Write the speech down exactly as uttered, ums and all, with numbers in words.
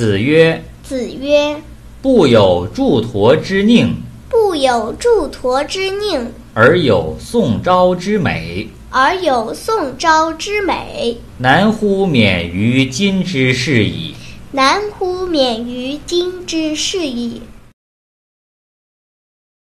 子曰： 子曰： 不有祝驮之佞， 不有祝驮之佞， 而有宋昭之美。 而有宋昭之美， 难乎免于今之事矣。 难乎免于今之事矣。